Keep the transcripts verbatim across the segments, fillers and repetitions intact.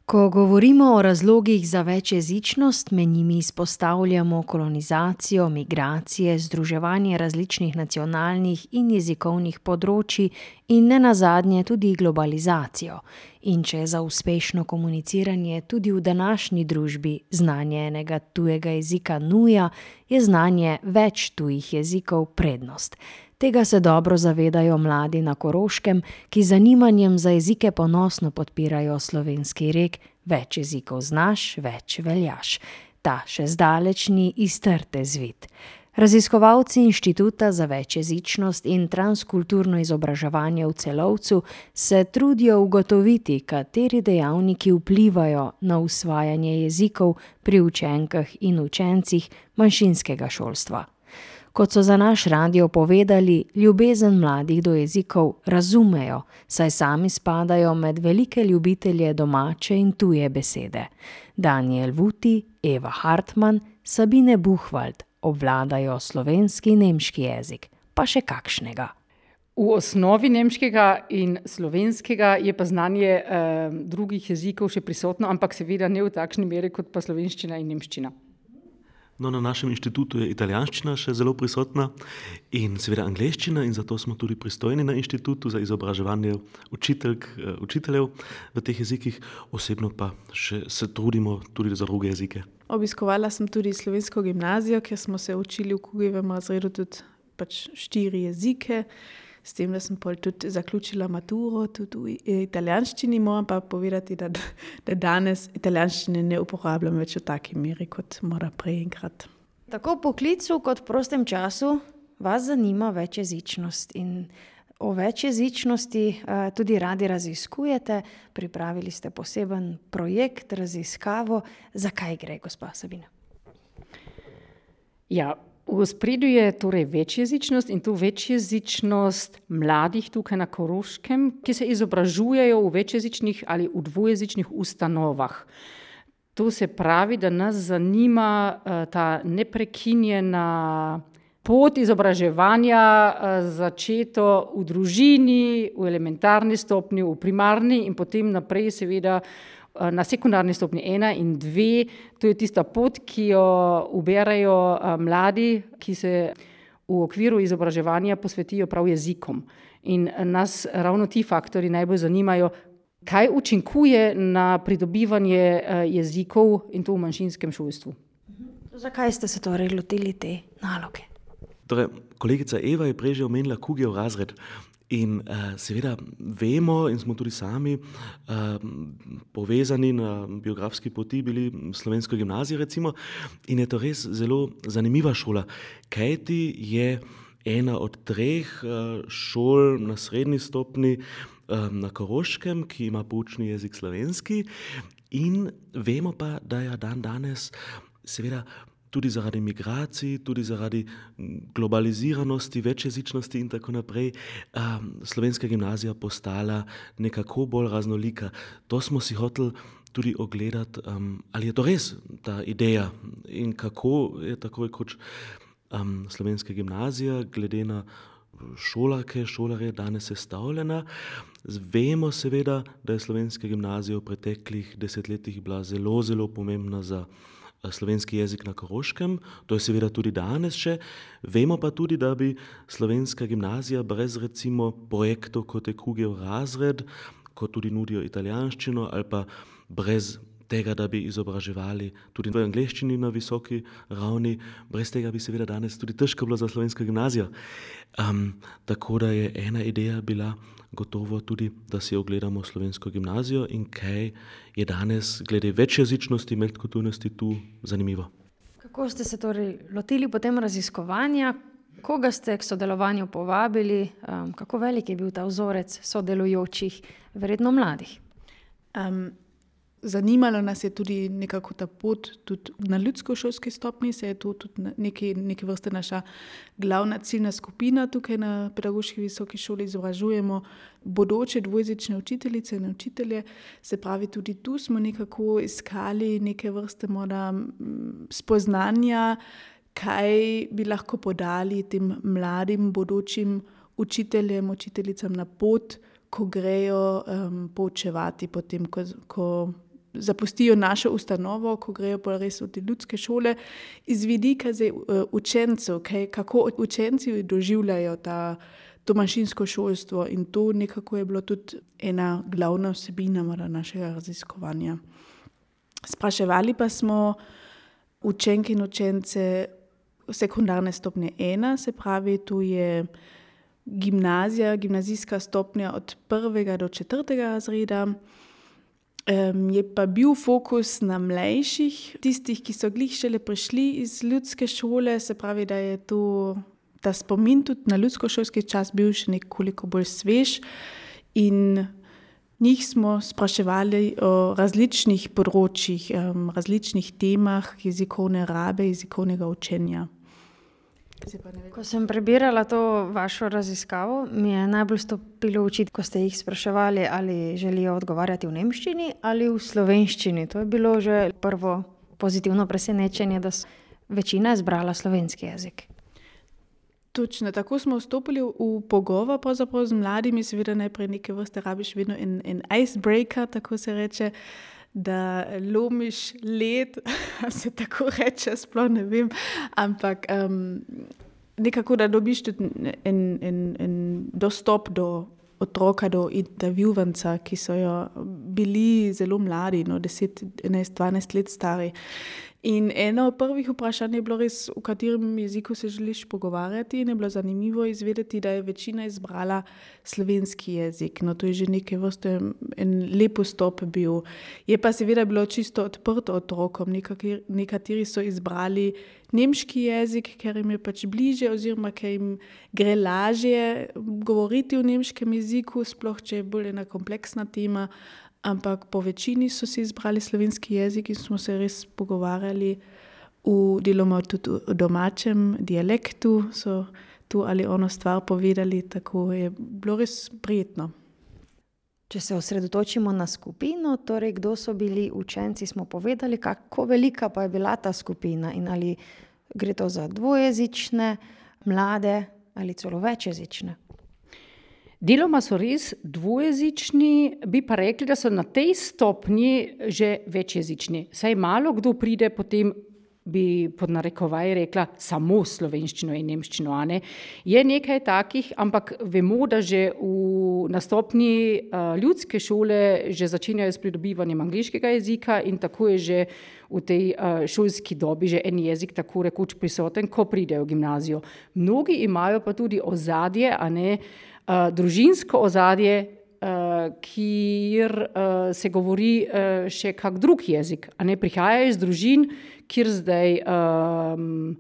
Ko govorimo o razlogih za večjezičnost, med njimi izpostavljamo kolonizacijo, migracije, združevanje različnih nacionalnih in jezikovnih področij in nenazadnje tudi globalizacijo. In če je za uspešno komuniciranje tudi v današnji družbi znanje enega tujega jezika nuja, je znanje več tujih jezikov prednost. Tega se dobro zavedajo mladi na Koroškem, ki z zanimanjem za jezike ponosno podpirajo slovenski rek Več jezikov znaš, več veljaš. Ta še zdaleč ni iz trte zvit. Raziskovalci Inštituta za večjezičnost in transkulturno izobraževanje v Celovcu se trudijo ugotoviti, kateri dejavniki vplivajo na usvajanje jezikov pri učenkah in učencih manjšinskega šolstva. Kot so za naš radio povedali, ljubezen mladih do jezikov razumejo, saj sami spadajo med velike ljubitelje domače in tuje besede. Daniel Vuti, Eva Hartman, Sabine Buchwald obvladajo slovenski in nemški jezik, pa še kakšnega. V osnovi nemškega in slovenskega je pa znanje eh, drugih jezikov še prisotno, ampak seveda ne v takšni meri kot pa slovenščina in nemščina. No, na našem inštitutu je italijanščina še zelo prisotna in seveda angleščina in zato smo tudi pristojni na inštitutu za izobraževanje učiteljk, učiteljev v teh jezikih. Osebno pa še se trudimo tudi za druge jezike. Obiskovala sem tudi slovensko gimnazijo, kjer smo se učili v Kugijevem razredu tudi pač štiri jezike. S tem, da sem pol tudi zaključila maturo, tudi v italijanščini, moram pa povedati, da, da danes italijanščine ne uporabljam več v taki meri, kot mora prej enkrat. Tako v poklicu kot v prostem času vas zanima večjezičnost in o večjezičnosti uh, tudi radi raziskujete. Pripravili ste poseben projekt, raziskavo. Zakaj gre, gospa Sabina? Ja, v ospredju je torej večjezičnost in to večjezičnost mladih tukaj na Koroškem, ki se izobražujejo v večjezičnih ali v dvojezičnih ustanovah. To se pravi, da nas zanima uh, ta neprekinjena pot izobraževanja, uh, začeto v družini, v elementarni stopnji, v primarni in potem naprej seveda na sekundarni stopnji ena in dve. To je tista pot, ki jo uberajo mladi, ki se v okviru izobraževanja posvetijo prav jezikom. In nas ravno ti faktori najbolj zanimajo, kaj učinkuje na pridobivanje jezikov in to v manjšinskem šolstvu. Zakaj ste se torej lotili te naloge? Torej, kolegica Eva je prej že omenila Kugijev razred. In uh, seveda vemo in smo tudi sami uh, povezani na biografski poti bili slovensko gimnazijo recimo in je to res zelo zanimiva šola, kajti je ena od treh uh, šol na srednji stopni uh, na Koroškem, ki ima poučni jezik slovenski in vemo pa, da je dan danes seveda tudi zaradi migracij, tudi zaradi globaliziranosti, večjezičnosti in tako naprej, um, slovenska gimnazija postala nekako bolj raznolika. To smo si hoteli tudi ogledati, um, ali je to res ta ideja in kako je tako rekoč um, slovenska gimnazija glede na šolarke, šolarje danes sestavljena. Vemo seveda, da je slovenska gimnazija v preteklih desetletjih bila zelo, zelo pomembna za slovenski jezik na Koroškem, to je seveda tudi danes še. Vemo pa tudi, da bi slovenska gimnazija brez recimo projektov kot je Kugijev razred, kot tudi nudijo italijanščino ali pa brez tega, da bi izobraževali tudi v angleščini na visoki ravni, brez tega bi seveda danes tudi težko bilo za slovensko gimnazijo. Um, tako da je ena ideja bila gotovo tudi, da si ogledamo slovensko gimnazijo in kaj je danes glede večjezičnosti, medkulturnosti tu zanimivo. Kako ste se torej lotili potem raziskovanja? Koga ste k sodelovanju povabili? Um, kako velik je bil ta vzorec sodelujočih, verjetno mladih? Um, Zanimalo nas je tudi nekako ta pot, tudi na ljudsko-šolski stopnji, se je to tudi neki, neki vrste naša glavna ciljna skupina tukaj na pedagoški visoki šoli, izobražujemo bodoče dvojezične učiteljice in učitelje, se pravi tudi tu smo nekako iskali neke vrste morda spoznanja, kaj bi lahko podali tem mladim bodočim učiteljem, učiteljicam na pot, ko grejo um, poučevati potem, ko, ko zapustijo našo ustanovo, ko grejo pa res v te ljudske šole, iz vidika zdaj uh, učencev, kaj, kako učenci doživljajo ta, to manjšinsko šolstvo in to nekako je bilo tudi ena glavna vsebina našega raziskovanja. Spraševali pa smo učenke in učence sekundarne stopnje ena, se pravi, tu je gimnazija, gimnazijska stopnja od prvega do četrtega razreda. Um, je pa bil fokus na mlajših, tistih, ki so glih šele prišli iz ljudske šole, se pravi, da je tu ta spomin tudi na ljudskošolski čas bil še nekoliko bolj svež in njih smo spraševali o različnih področjih, um, različnih temah jezikovne rabe, jezikovnega učenja. Ko sem prebirala to vašo raziskavo, mi je najbolj stopilo v oči, ko ste jih spraševali, ali želijo odgovarjati v nemščini ali v slovenščini. To je bilo že prvo pozitivno presenečenje, da je večina izbrala slovenski jezik. Točno, tako smo vstopili v pogovor pravzaprav z mladimi, seveda najprej neke vrste rabiš vedno en, en icebreaker, tako se reče, da lomiš led, se tako reče, sploh ne vem, ampak um, nekako, da dobiš tudi en, en, en dostop do otroka, do intervjuvanca, ki so jo bili zelo mladi, no, deset, enajst, dvanajst let stari. In eno od prvih vprašanj je bilo res, v katerem jeziku se želiš pogovarjati, in je bilo zanimivo izvedeti, da je večina izbrala slovenski jezik. No, to je že neke vrste en lep vstop bil. Je pa seveda bilo čisto odprto otrokom. Nekateri, nekateri so izbrali nemški jezik, ker jim je pač bliže oziroma ker jim gre lažje govoriti v nemškem jeziku, sploh če je bolj ena kompleksna tema. Ampak po večini so si izbrali slovenski jezik in smo se res pogovarjali v deloma tudi v domačem dialektu, so tu ali ono stvar povedali, tako je bilo res prijetno. Če se osredotočimo na skupino, torej kdo so bili učenci, smo povedali, kako velika pa je bila ta skupina in ali gre to za dvojezične, mlade ali celo večjezične. Deloma so res dvojezični, bi pa rekli, da so na tej stopnji že večjezični. Saj malo kdo pride potem, bi pod narekovaj rekla, samo slovenščino in nemščino. A ne? Je nekaj takih, ampak vemo, da že v, na stopnji uh, ljudske šole že začenjajo s pridobivanjem angleškega jezika in tako je že v tej uh, šolski dobi že en jezik tako rekoč prisoten, ko pridejo v gimnazijo. Mnogi imajo pa tudi ozadje, a ne, Uh, družinsko ozadje, uh, kjer uh, se govori uh, še kak drug jezik, a ne prihajajo iz družin, kjer zdaj, um,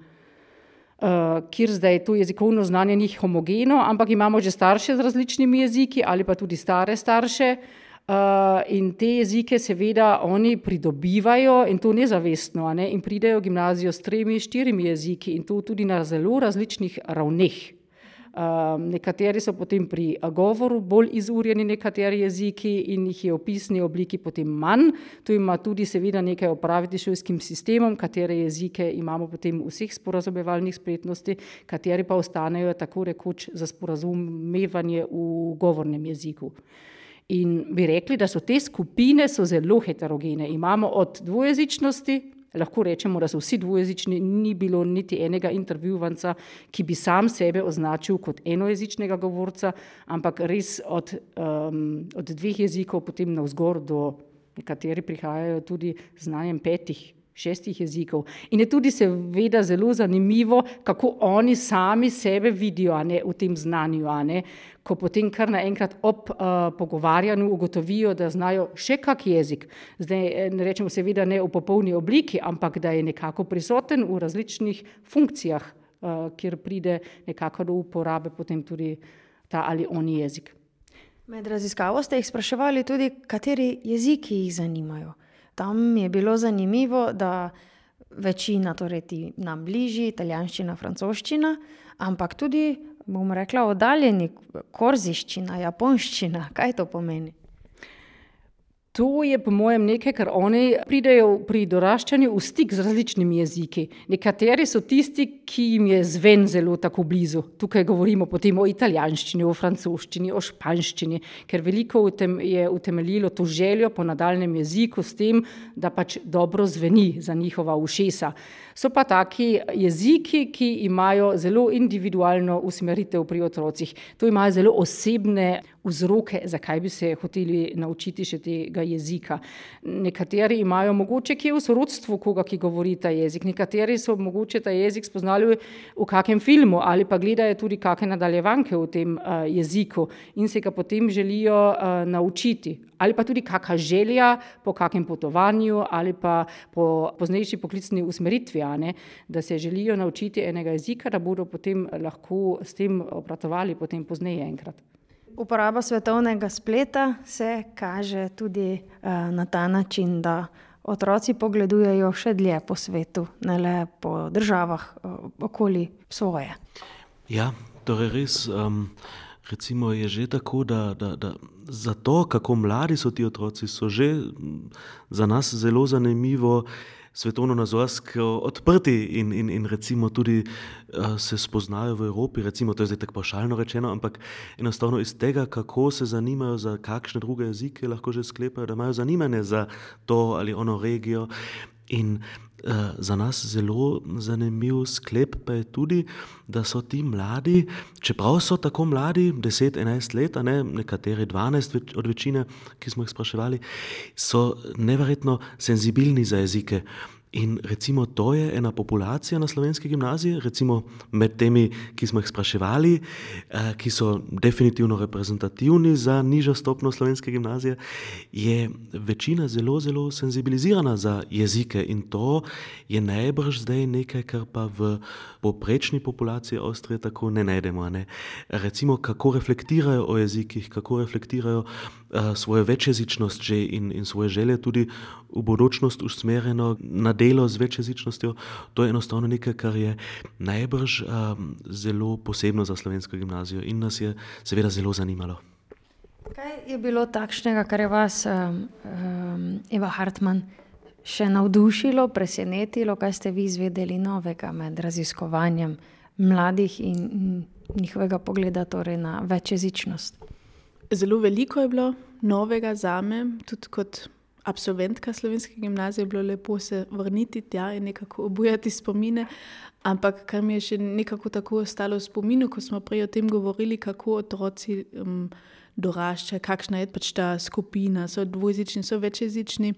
uh, kjer zdaj to jezikovno znanje ni homogeno, ampak imamo že starše z različnimi jeziki ali pa tudi stare starše uh, in te jezike seveda oni pridobivajo in to nezavestno, a ne, in pridejo v gimnazijo s tremi, štirimi jeziki in to tudi na zelo različnih ravneh. Um, nekateri so potem pri govoru bolj izurjeni, nekateri jeziki in jih je v pisni obliki potem manj. Tu ima tudi seveda nekaj opraviti s šolskim sistemom, katere jezike imamo potem vseh sporazumevalnih spretnosti, kateri pa ostanejo tako rekoč za sporazumevanje v govornem jeziku. In bi rekli, da so te skupine so zelo heterogene. Imamo od dvojezičnosti, lahko rečemo, da so vsi dvojezični, ni bilo niti enega intervjuvanca, ki bi sam sebe označil kot enojezičnega govorca, ampak res od, um, od dveh jezikov potem navzgor do nekateri prihajajo tudi z znanjem petih, šestih jezikov. In je tudi seveda zelo zanimivo, kako oni sami sebe vidijo, a ne, v tem znanju, a ne, ko potem kar naenkrat ob uh, pogovarjanju ugotovijo, da znajo še kak jezik. Zdaj ne rečemo seveda ne v popolni obliki, ampak da je nekako prisoten v različnih funkcijah, uh, kjer pride nekako do uporabe potem tudi ta ali oni jezik. Med raziskavo ste jih spraševali tudi, kateri jeziki jih zanimajo. Tam je bilo zanimivo, da večina, torej ti nam bližji, italijanščina, francoščina, ampak tudi, bom rekla, oddaljeni, korziščina, japonščina. Kaj to pomeni? To je po mojem nekaj, kar oni pridejo pri doraščanju v stik z različnimi jeziki. Nekateri so tisti, ki jim je zven zelo tako blizu. Tukaj govorimo potem o italijanščini, o francoščini, o španščini, ker veliko je utemeljilo to željo po nadaljnem jeziku s tem, da pač dobro zveni za njihova ušesa. So pa taki jeziki, ki imajo zelo individualno usmeritev pri otrocih. To imajo zelo osebne vzroke, zakaj bi se hoteli naučiti še tega jezika. Nekateri imajo mogoče kje v sorodstvu koga, ki govori ta jezik. Nekateri so mogoče ta jezik spoznali v kakem filmu ali pa gledajo tudi kakšne nadaljevanke v tem uh, jeziku in se ga potem želijo uh, naučiti. Ali pa tudi kakšna želja po kakem potovanju ali pa po poznejši poklicni usmeritvi, a ne, da se želijo naučiti enega jezika, da bodo potem lahko s tem obratovali potem pozneje enkrat. Uporaba svetovnega spleta se kaže tudi uh, na ta način, da otroci pogledujejo še dlje po svetu, ne le po državah uh, okoli svoje. Ja, torej res, um, recimo je že tako, da, da, da za to, kako mladi so ti otroci, so že za nas zelo zanimivo svetovno-nazorsko odprti in, in, in recimo tudi uh, se spoznajo v Evropi, recimo to je zdaj tako pavšalno rečeno, ampak enostavno iz tega, kako se zanimajo za kakšne druge jezike, lahko že sklepajo, da imajo zanimanje za to ali ono regijo. In uh, za nas zelo zanimiv sklep pa je tudi, da so ti mladi, čeprav so tako mladi, deset, enajst let, a ne, nekateri dvanajst od večine, ki smo jih spraševali, so neverjetno senzibilni za jezike. In recimo to je ena populacija na slovenski gimnaziji, recimo med temi, ki smo jih spraševali, ki so definitivno reprezentativni za nižjo stopnjo slovenske gimnazije, je večina zelo, zelo senzibilizirana za jezike in to je najbrž zdaj nekaj, kar pa v poprečni populaciji Avstrije tako ne najdemo. Ne? Recimo, kako reflektirajo o jezikih, kako reflektirajo uh, svojo večjezičnost že in, in svoje želje tudi v bodočnost usmerjeno na delo z večjezičnostjo, to je enostavno nekaj, kar je najbrž um, zelo posebno za slovensko gimnazijo in nas je seveda zelo zanimalo. Kaj je bilo takšnega, kar je vas, um, um, Eva Hartmann, še navdušilo, presenetilo, kaj ste vi izvedeli novega med raziskovanjem mladih in njihovega pogleda torej na večjezičnost? Zelo veliko je bilo novega zame, tudi kot absolventka slovenske gimnazije je bilo lepo se vrniti tja in nekako obujati spomine, ampak kar mi je še nekako tako ostalo v spominu, ko smo prej o tem govorili, kako otroci um, doraščajo, kakšna je pač ta skupina, so dvojezični, so večjezični,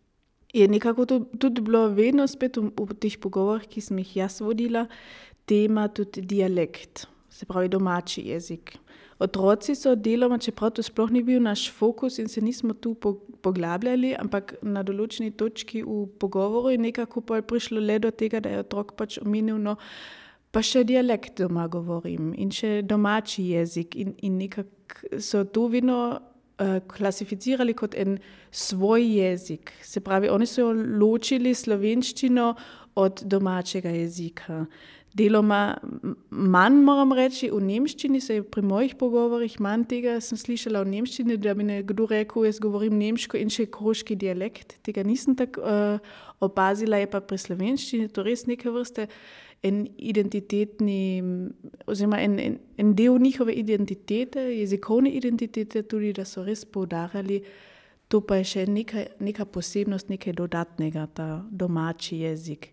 je nekako to, tudi bilo vedno spet v, v teh pogovorih, ki sem jih jaz vodila, tema tudi dialekt, se pravi domači jezik. Otroci so deloma, čeprav to sploh ni bil naš fokus in se nismo tu poglabljali, ampak na določeni točki v pogovoru je nekako pa prišlo le do tega, da je otrok pač omenil, no, pa še dialekt doma govorim in še domači jezik in, in nekako so to vedno uh, klasificirali kot en svoj jezik. Se pravi, oni so ločili slovenščino od domačega jezika. Deloma manj, moram reči, v nemščini se je pri mojih pogovorih manj tega sem slišala v nemščini, da bi nekdo rekel, jaz govorim nemško in še koroški dialekt. Tega nisem tako uh, opazila, je pa pri slovenščini to res neke vrste en identitetni, oziroma en, en, en del njihove identitete, jezikovne identitete, tudi da so res poudarjali, to pa je še neka, neka posebnost, nekaj dodatnega, ta domači jezik.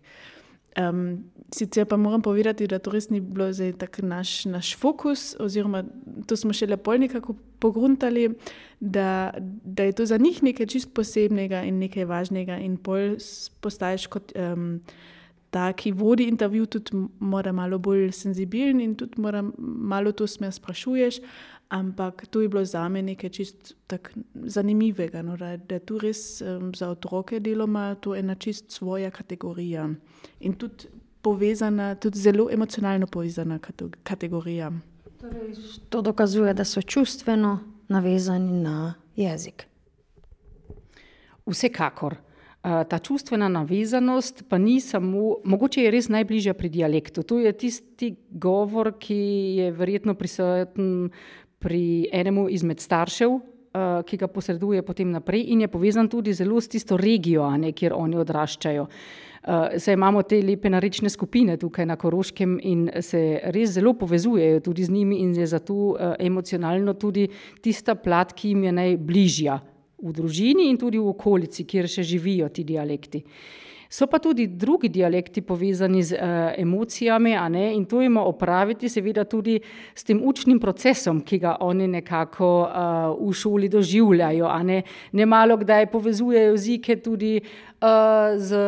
Um, sicer pa moram povedati, da to res ni bilo zdaj tak naš, naš fokus, oziroma to smo še lepo nekako pogruntali, da, da je to za njih nekaj čist posebnega in nekaj važnega in pol postaješ kot um, ta, ki vodi intervju, tudi mora malo bolj senzibilen in tudi mora malo to smer sprašuješ, ampak to je bilo zame nekaj čist tak zanimivega, no, da, da je tu res um, za otroke deloma to ena čist svoja kategorija in tudi povezana, tudi zelo emocionalno povezana kategorija. Torej, to dokazuje, da so čustveno navezani na jezik. Vsekakor. Ta čustvena navezanost pa ni samo, mogoče je res najbližja pri dialektu. To je tisti govor, ki je verjetno prisoten pri enemu izmed staršev ki ga posreduje potem naprej in je povezan tudi zelo s tisto regijo, a ne, kjer oni odraščajo. Uh, saj imamo te lepe narečne skupine tukaj na Koroškem in se res zelo povezujejo tudi z njimi in je zato uh, emocionalno tudi tista plat, ki jim je najbližja v družini in tudi v okolici, kjer še živijo ti dialekti. So pa tudi drugi dialekti povezani z uh, emocijami, a ne, in to ima opraviti seveda tudi s tem učnim procesom, ki ga oni nekako uh, v šoli doživljajo, a ne. Nemalo kdaj povezujejo jezike tudi uh, z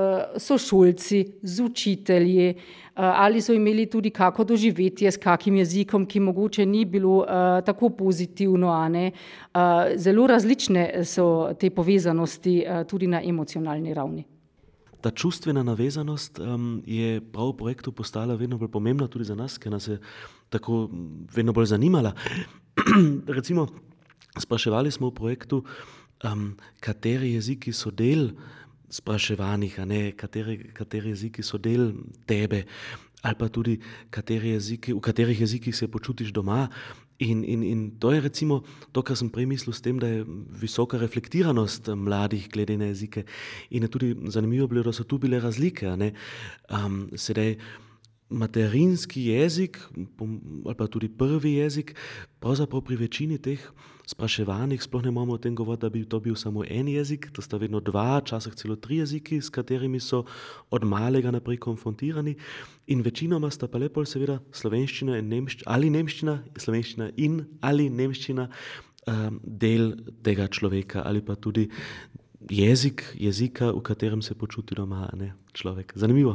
sošolci, z učitelji, uh, ali so imeli tudi kako doživetje s kakim jezikom, ki mogoče ni bilo uh, tako pozitivno, a ne. Uh, zelo različne so te povezanosti uh, tudi na emocionalni ravni. Ta čustvena navezanost um, je prav v projektu postala vedno bolj pomembna tudi za nas, ker nas je tako vedno bolj zanimala. Recimo, spraševali smo v projektu, um, kateri jeziki so del spraševanih, a ne, kateri, kateri jeziki so del tebe, ali pa tudi kateri jeziki, v katerih jezikih se počutiš doma. In, in, in to je recimo to, kar sem prej mislil s tem, da je visoka reflektiranost mladih glede na jezike. In je tudi zanimivo bilo, da so tu bile razlike. A ne? Um, sedaj materinski jezik ali pa tudi prvi jezik, pravzaprav pri večini teh spraševanih sploh ne moramo o tem govoriti, da bi to bil samo en jezik, to sta vedno dva, časih celo tri jeziki, s katerimi so od malega naprej konfrontirani. In večinoma sta pa lepo seveda slovenščina in nemščina, ali nemščina, slovenščina in ali nemščina um, del tega človeka ali pa tudi jezik, jezika, v katerem se počuti doma, ne, človek. Zanimivo.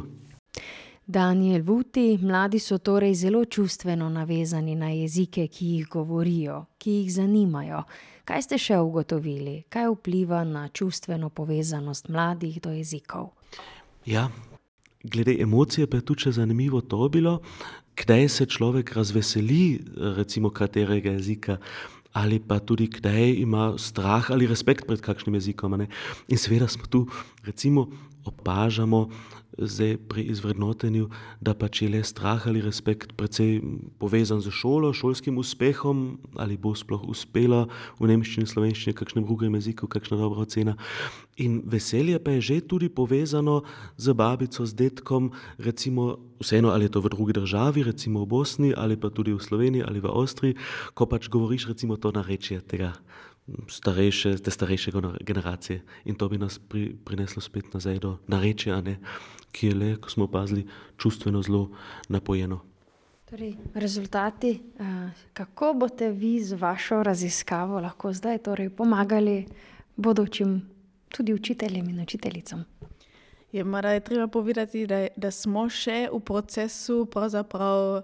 Daniel Vuti, mladi so torej zelo čustveno navezani na jezike, ki jih govorijo, ki jih zanimajo. Kaj ste še ugotovili? Kaj vpliva na čustveno povezanost mladih do jezikov? Ja, glede emocije pa je tudi zanimivo to bilo, kdaj se človek razveseli recimo katerega jezika, ali pa tudi kdaj ima strah ali respekt pred kakšnim jezikom. Ne? In seveda smo tu recimo opažamo zdaj pri izvrednotenju, da pač je le strah ali respekt precej povezan z šolo, šolskim uspehom, ali bo sploh uspela v nemščini, slovenščini, kakšnem drugem jeziku, kakšna dobra ocena. In veselje pa je že tudi povezano z babico, z detkom, recimo vseeno, ali je to v drugi državi, recimo v Bosni, ali pa tudi v Sloveniji, ali v Avstriji, ko pač govoriš recimo to narečje tega starejše, te starejše generacije. In to bi nas pri, prineslo spet nazaj do narečja, ne, ki je le, ko smo opazili, čustveno zelo napojeno. Torej, rezultati, kako boste vi z vašo raziskavo lahko zdaj torej pomagali bodočim tudi učiteljem in učiteljicam? Je, mora je treba povedati, da, da smo še v procesu pravzaprav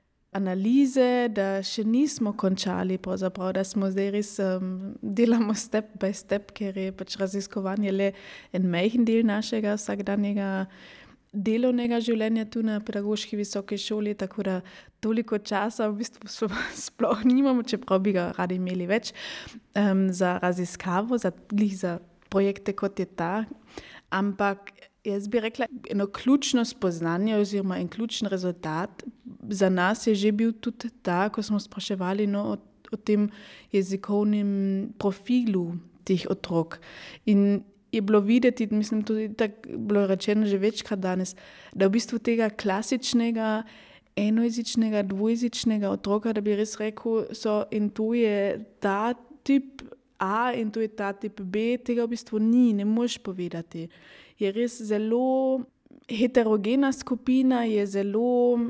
analize, da še nismo končali, da smo zdaj res um, delamo step by step, ker je pač raziskovanje le en majhen del našega vsakdanjega delovnega življenja tu na pedagoški visoki šoli, tako da toliko časa v bistvu sploh nimamo, čeprav bi ga radi imeli več, um, za raziskavo, za, za projekte kot je ta, ampak jaz bi rekla, eno ključno spoznanje oziroma en ključen rezultat za nas je že bil tudi ta, ko smo spraševali no, o, o tem jezikovnem profilu teh otrok. In je bilo videti, mislim tudi tako bilo rečeno že večkrat danes, da v bistvu tega klasičnega enojezičnega, dvojezičnega otroka, da bi res rekel, so in to je ta tip A in to je ta tip B, tega v bistvu ni, ne moš povedati. Je res zelo heterogena skupina, je zelo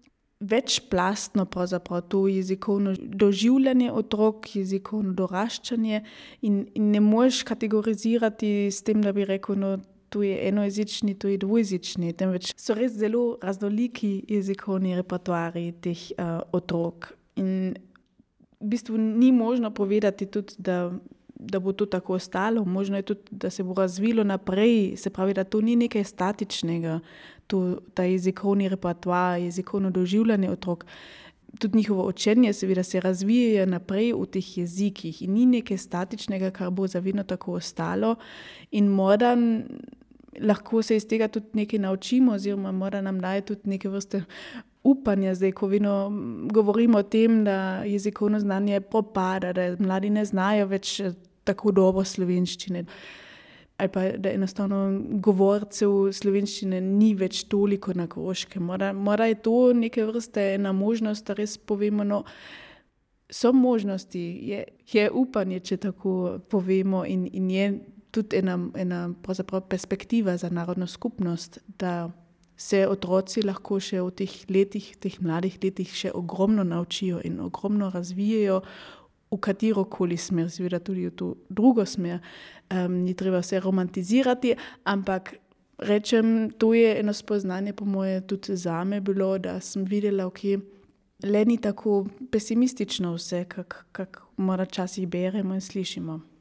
večplastno pravzaprav to jezikovno doživljanje otrok, jezikovno doraščanje in, in ne moš kategorizirati s tem, da bi rekel, no, to je enojezični, to je dvojezični, temveč so res zelo raznoliki jezikovni repertoarji teh uh, otrok. In v bistvu ni možno povedati tudi, da, da bo to tako ostalo. Možno je tudi, da se bo razvilo naprej. Se pravi, da to ni nekaj statičnega, to, ta jezikovni repertoar, jezikovno doživljanje otrok. Tudi njihovo učenje seveda se razvije naprej v teh jezikih in ni nekaj statičnega, kar bo zavedno tako ostalo. In morda lahko se iz tega tudi nekaj naučimo oziroma mora nam daje tudi neke vrste upanja, zdaj, ko vedno govorimo o tem, da jezikovno znanje propada, da mladi ne znajo več tako dobro slovenščine. Ali pa da enostavno govorcev slovenščine ni več toliko na Koroškem. Mora, mora je to neke vrste ena možnost, da res povemo, no, so možnosti, je, je upanje, če tako povemo, in, in je tudi ena, ena pravzaprav perspektiva za narodno skupnost, da se otroci lahko še v teh letih, teh mladih letih še ogromno naučijo in ogromno razvijajo v katerokoli smer, seveda tudi v to drugo smer. Um, ni treba vse romantizirati, ampak rečem, to je eno spoznanje po moje tudi zame bilo, da sem videla, ok, le ni tako pesimistično vse, kak, kak mora časih beremo in slišimo.